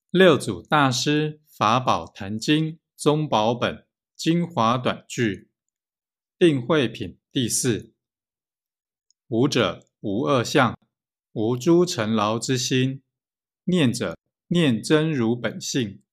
六祖大师法宝坛经宗宝本精华短句定慧品第四。无者无二相，无诸尘劳之心，念者念真如本性，